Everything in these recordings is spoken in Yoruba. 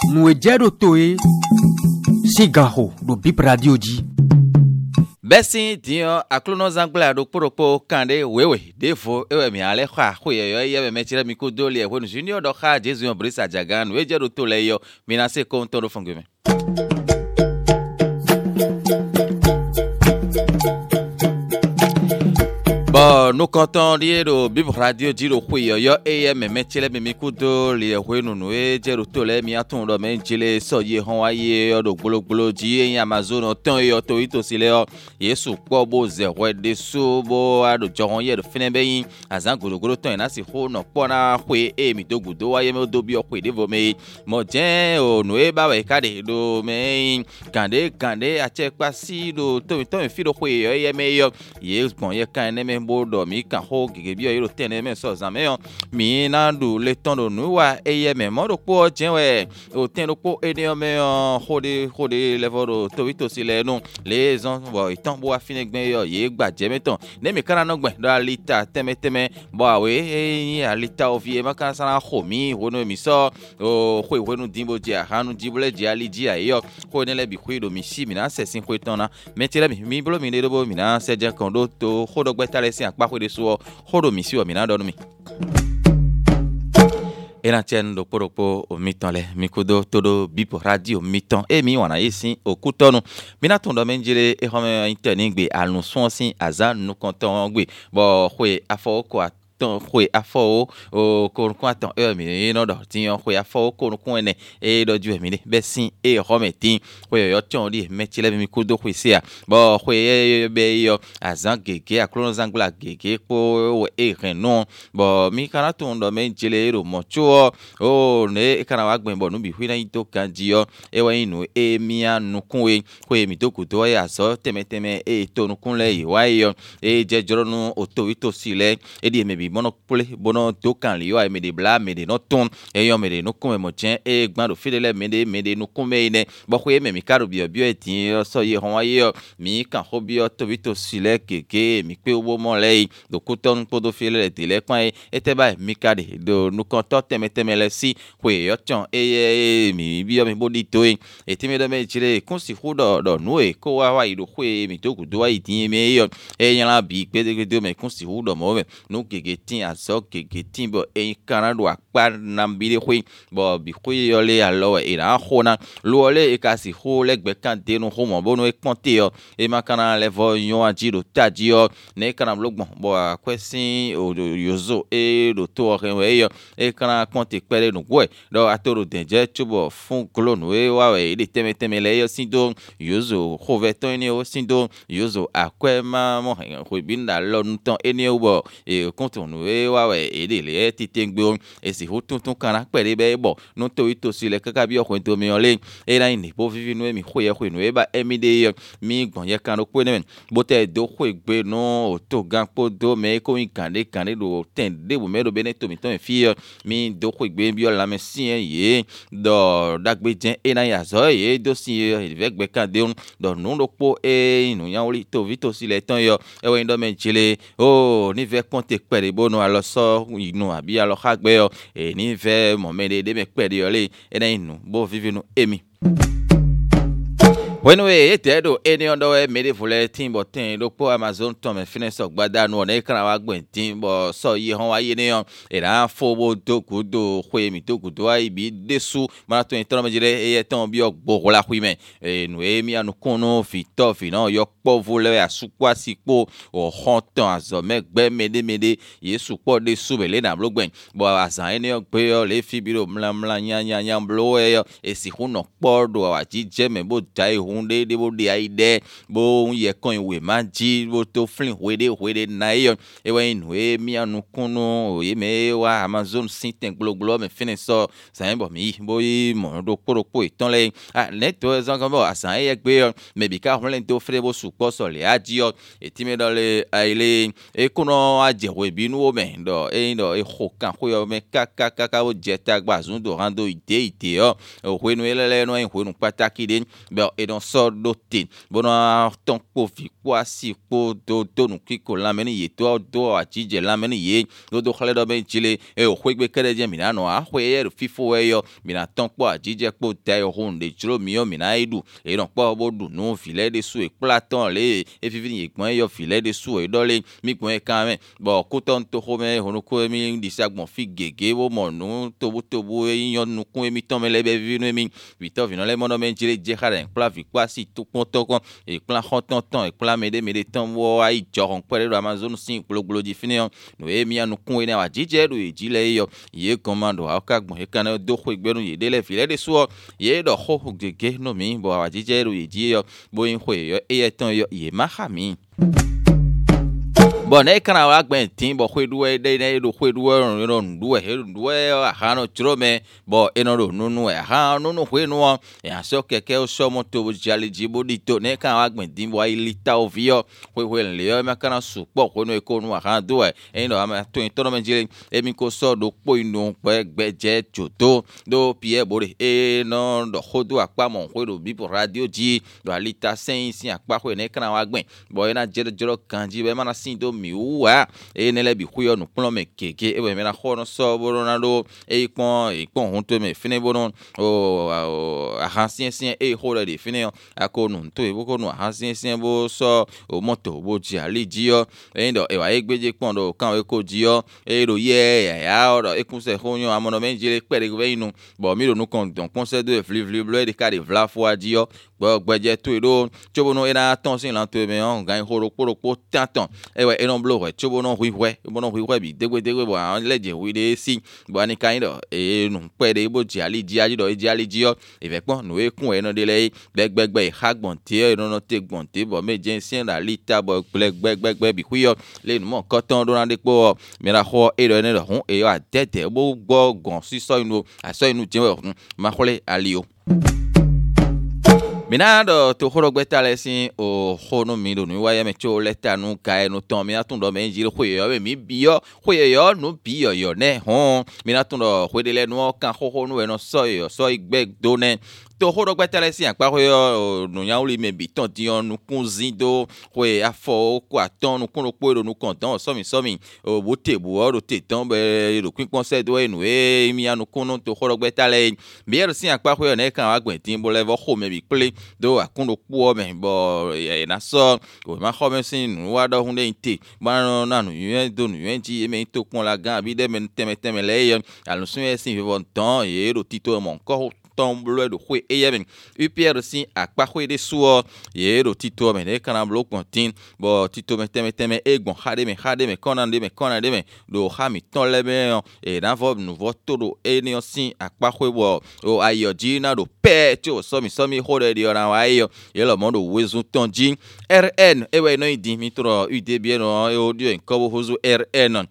Mouedjero Toe, Sigaho, do Bip Radio Di. Bessin dio aklono zangla do poropo kande wewe defo ewe mi ale kwa huye ye me tira mi ko dole wonu junior do kha jesu brisa jagan wejero to leyo minase konto do fongume. Bon, nous comptons dire au Bib Radio dire au Huyo yo me metile me mikudo li hwenu noe jero tole mi atun do me jile so ye hon waye do gbolo ji Amazon ton yo to ito sile o Yesu po bo ze de so bo ado johon ye do finebe yin azan golo ton na si ho no po na hwe mi dogudo waye me do bi o hwe de vo me mo jen o noe ba we kade do me kande ache kwa si do to fi do hwe yo ye me yo ye bon ye kan ne me bodo mi kan ho gege bi yo tene me so zame mi na du le ton do nu wa eye me mo do po jenwe o ten do po ene me hode level do to si le nu les on bo itan bo afine gben yo ye gbaje meton ne mi kana no gben do alita teme bo awe alita ovie ma kan sana ho mi wono mi so o hwe wonu dimbo je hanu dibule je ali ji ayo ko ne le bi hwe do mi si mi na sesin hwe ton na metire mi blo mi ne do bo mi na se je kan do to hodo gbeta le si akpa hwe de so hodo mi si o mi na do mi ena chen do poropo o miton le mikudo todo Bip Radio miton e mi wana yesin okutonu mina ton do menjire e home internet gbe alun son sin azan nu konton gbe bo hwe afo ko ton hwe afo o ko ton mi no do tin hwe afo ko ene e do ju mi be sin e home tin hwe yo ton di metile mi kudo hwe sia bo hwe be yo azan gege aklono zangla gege po e renon bo mi kana ton do menjile ro mocho o ne kana wa gben bo nu bi hwe na to kanji yo e wa inu e mi anu kunwe hwe mi to kudo ya so teme e to nu kunle yi wa yo e je joro nu oto sile e di me bi monopole bono to kan li yo me de bla me de no ton e yo me de no kun mo chen e gban do fidele me de no kun me ne bo hwe me mi karo bio etin so ye hon wa yo mi kan ho bio to sile keke mi pe obo mo le do kuton podo file de le kwan e te ba mi kade do nu kan to teme le si hwe yo ton e mi bio mi bodi to e ti me do me chire kun si hu do nu e ko wa ido hwe mi to gudo wa itin me yo e yan la bi pe de do me kun si hu do mo me nu keke tin aso keke tin bo e kana do akpa na bi de hwe bo bi hwe yo le alo e na ho na lo le e ka si ho le gbe kan de nu ho mo bo no e ponte yo e ma kana le vo yon aji do taji yo ne kana blogbon bo akwesin o yozo e do to re yo e kana ponte pere nu gwe do atoro denje chubo fun klonu e wa we de teme le yo sindo yozo hoveton ni o sindo yozo akwema mo hwe binda lo nton eni obo e kontonu e wa we e de le titengbe e si hotun kana pere be bo no to itosi le kaka bi okun to mi ole e na ni bo vivi nu e mi hwe nu e ba emi de mi gbon ye kan ko ne bo te do hwe gbe no to gan po do me ko kande do ten de bo me do beneto mi ton fi mi do hwe gbe bi o la me si ye do dagbe jen e na ya zo ye do si e ve gbe kan de do nu do po e nu yan oli to vito si le ton yo e we ndo men chile o ni ve ponte pere bo no alo so inu abi alo khagbe yo e ni ve mo me de me pere yo le e na inu bo vivi nu emi when we etedo any ondo we made fule timbo tin do po Amazon to me finish ok gbada nu na ikran wa gben timbo so yi hon wa ye ne yon e na fo bo do kudo hwe mi to kudo ai bi desu mara to intro me jire e ton bi ogbo la hwi me e nu e mi anu kunu fi to fi no yo po vole asukwa sipo o honton azo me gbe mede yesu po de su bele na blo gben bo azan ene ok pe yo le fi biro mla nya blo e yo e si hu no po do wa ji je me bo dai hunde de bo de aide bo ye kon we ma ji bo to flin we de na yo e we nu e mi anu kunu e me wa Amazon sinten gloglo me finish so sa bo mi bo yi mo do poropo iton le net to zan kan bo asan e gbe yo me bi ka hunle to fre bo su po so le aji yo e ti me do le aile e kuno aje we bi nu o me do e ho kan ho yo me ka bo je ta gba zun do rando ite yo o we nu ele no en ho nu pataki de be e don no so dote bona ton po fi kwa si po do nu kiko la meni ye do ajije la meni ye do khale do ben chile e o khwegbe kere je mina no a khwe e fifo e yo mina ton po ajije po te o hunde chiro mi o mina idu e no po bo du no filet de sou e platon le e fifini e gbon yo filet de sou e dole mi gbon e kan men bo ko ton to ho me honu ko mi di sa gbon fi gege wo mo nu tobo e yon nu ko mi ton me le be vi no mi vito vino le mono men chile je khare pla fi kwa si to pon to kon e plan ton e plan me de ton wo ai joron pere do amazon sin glo di fini no e mi anu kun e na ajije do e jile yo ye commando aka gbon e kan do ho egberun ye de le filet de sou ye do ho gege no mi bo ajije do ye ji yo bo in ho yo e ton yo ye ma khami bon e kana wa gben tin bo khweduwe de do khweduwe no nduwe ha no trome bo eno do nunu e ha nunu khwenu e aso keke o so moto bo jali jibo dito ne kana wa gben tin bo ilita ovio khwe le yo ma kana su po khwenu e ko nu ha do e no ama to in tono menjile e mi ko so do po inu pe gbeje joto do pie bore e no do khodu apa mo khwedo bi po radio ji do alita sen sin apa khwe ne kana wa gben bo ena jero kanji be mana sin do mi uwa e nele bi khuyo no plon me keke e be me na khono so boronado e pon honto me fine bonon o ahansien e hola de fine akonu to e boko no ahansien bo so o moto bo ji ali jio e ndo e wa egbeje pon do kan we ko jio e do ye ya o e kun se khonyo amono menjile pere gbe inu bo mi ro no kon don conseil de vli bleu de ka de vla fo jio gbeje to e do chobono e na tonsin lan to me on gan horo poro tanton e we non blo we chobono huiwe bi degwe bo an leje wi de si bo ani kan do e nu pe de bo ji ali ji aji do ji ali ji o e fe pon nu e kun e no de le gbegbe hagbon ti e no te gbon ti bo meje sin da lita bo gbegbe bi huyo le nu mo koton do na de po mi ra ho e do ne do hun e wa tete bo gbo gon si so inu aso inu je ma khole ali o minado to horo gbetale sin o hono mi do nu wa ya me cho leta nu ka e no ton mi atun do me jiri khoyo we mi biyo khoyo no biyo yo ne hon minatun do khwedele nu kan ho nu e no so igbe do ne to horo gbetale sin apa khoyo nu ya uli me bi ton di onu kunzin do khwe afo ko aton nu kun po do nu kontan so mi o bo tebu o do te ton be do kwin se do enu e mi anu kun to horo gbetale bi er sin apa khoyo ne kan wa gbetin bo levo ho me bi ple do akundo po me bo e na so o ma kho me sin wa do hunde inte ba na nu yen do nu yen ji me to pon la gan bi de me teme le yen alu sun e sin vivon ton e do tito mon ko tomble do khwe eyemen UPR sin akpa khwe de suo ye do tito me ne kana blo kontin bo tito me teme egbon hade me konande me do ha mi ton lebe e na vo nu vo todo e ni sin akpa khwe bo o ayoji na do pe ti o so mi hode di ora wa yo ye lo mondo wezu tonji RN e we no idi mi tro UD bien no e audio en ko hozu RN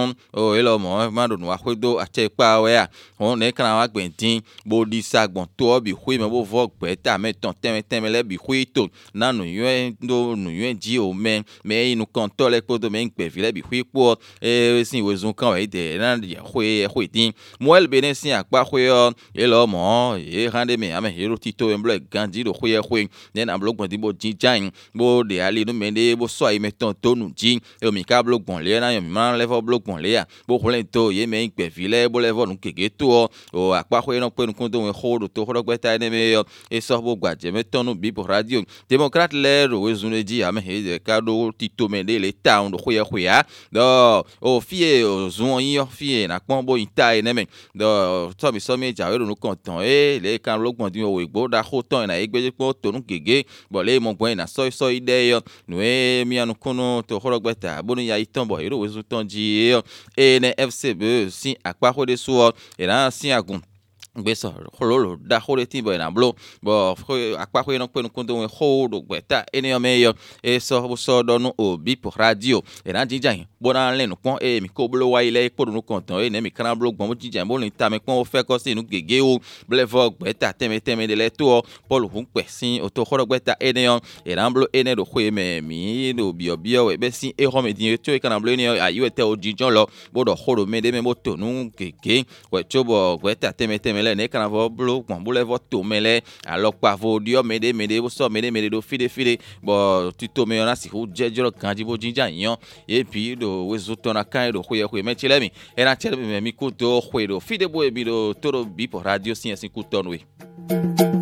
o e lo mo ma do nu khwe do ache pa we a ne kana wa gbentin bo di sagbon to bi khwe me bo vo gbe ta me ton teme le bi khwe to na nu yuen ji o me inu kon to le podo me gbe vi le bi khwe po e sin wezu kan we de na ya khwe tin moel benen sin akpa khwe yo e lo mo e hande me ame hero tito emble ganji do khwe ne na blog bon di bo jinjan bo de ali no me de bo so ai me ton to nu ji e mi ka blog bon le na yo mi man le vo blog bon le ya bo khlen to ye me gbe vi le bo le vo nu kege to o akpa khwe no pe nu kun do we ho to horo gbeta ne me yo e so bo gbaje me ton nu bi bo radio democrat le ro wezu ne ji ame he de ka do tito me de le town do khwe ya do o fie o zun yin yo fie na pon bo ita e ne me do so mi ja we nu kontan e le kan blog bon di o egbo da ho ton na egbe po to nu kege bo le mo gbo na so ide yo nu e mi anu kunu to horo gbeta bo ni ya iton bo ero wezu ton ji e ne FCB sin akpa ho de so e na sin agun gbeso hololo da hore tin bo na blo bo akpa ko no pe no kundo ho do gbeta eni o meyo e so do no obi po radio e na jinjan bo na le no pon e mi ko blo wa ile po no kontan e ne mi kan blo gbon mo jinjan bo ni ta me pon o fe ko si nu gege o blevo gbeta teme de le to polo hun pe sin o to horo gbeta eni o e na blo eni do ho me mi do bio we be sin e ho me din to e kan blo eni o ayu e te o jinjan lo bo do horo me de me mo to nu gege we chobo gbeta teme mele ne kana vo blo gbon bole vo to mele alokpa vo dio mede wo so mede do fide bo tito me ona si ho jejoro kanji bo jinja yan et puis do wezo tona kan do khoye me chilemi era chele me mi kuto khoye do fide bo e bi do toro bi po radio sin kutonwe